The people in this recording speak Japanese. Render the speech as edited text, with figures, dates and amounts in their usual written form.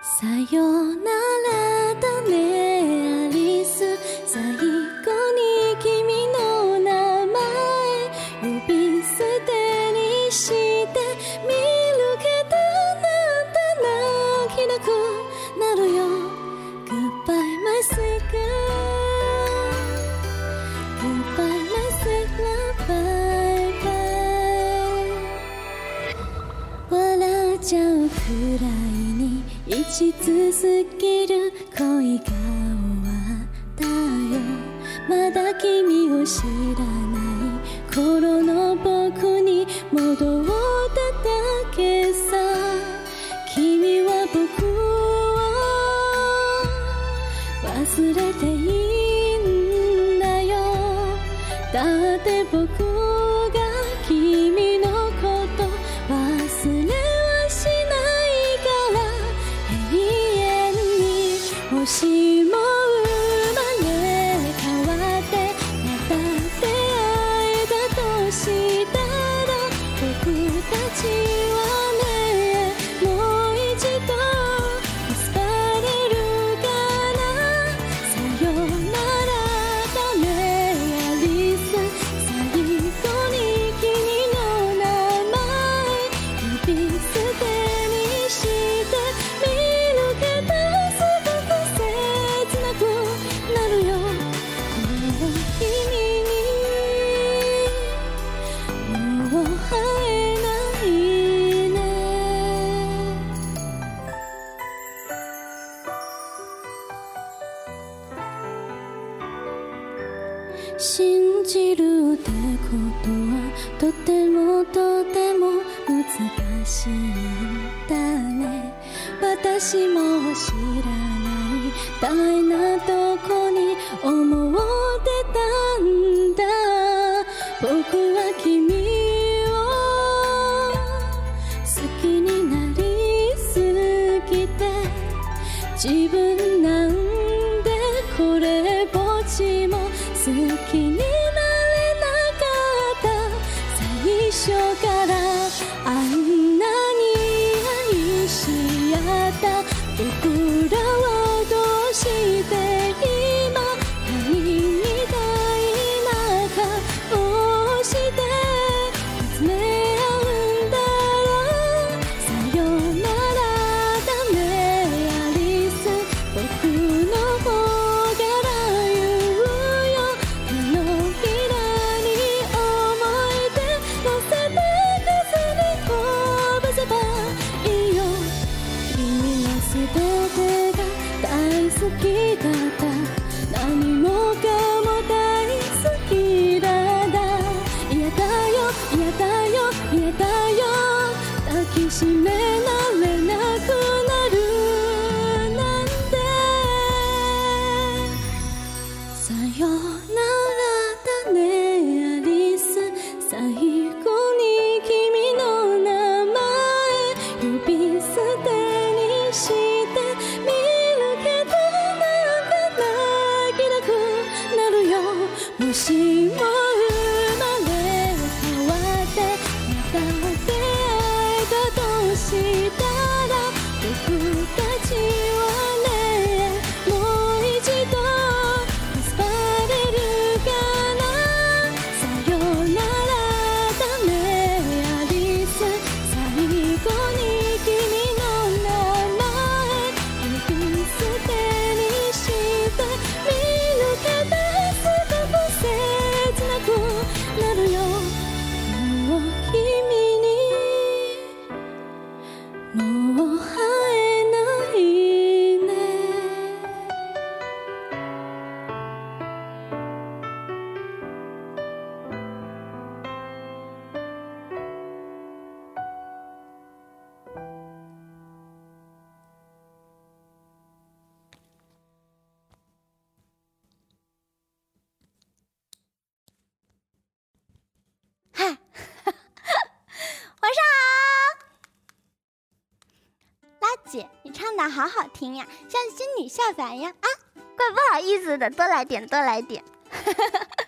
さよならだねアリス最後に君の名前呼び捨てにして見るけどなんて泣きなくなるよ Goodbye my sweet girl Goodbye my sweet love bye bye 笑っちゃうくらいに生き続ける恋が終わったよまだ君を知らない頃の僕に戻っただけさ君は僕を忘れていいんだよだって僕が君のこと忘れはしないから永遠にもしも生まれ変わってまた出会えたとしたら僕たちはねもう一度結ばれるかなさよならだねアリス最後に君の名前呼び捨てにして見るけどすごく切なくなるよもう君にもう会えないね信じるってことはとてもとても難しいんだね私も知らない大なとこに思ってたんだ僕は君を好きになりすぎて自分なんでこれっぽっちも好きになれなかった最初からあんなに愛し合った僕らはどうして今愛みたいな顔をして見つめ合うんだろうさよならだねアリス僕の方から言うよ手のひらに思い出乗せて風に飛ばせばいいよ君は全てが大好きだった何もかも大好きだだ嫌だよ嫌だよ嫌だよ抱きしめられなくなるなんてさよならだねアリス最後に君の名前呼び捨てにして見るけどなんか泣きなくなるよもしも生まれ変わってまた出会えたとしたら僕たちはねもう一度結ばれるかなさよならだねアリス最後に君の名前呼び捨てにして見るけどすごく切なくなるよもう君にもう会えないね嗨，晚上好。拉姐，你唱的好好听呀，像仙女下凡呀！啊，怪不好意思的，多来点，多来点。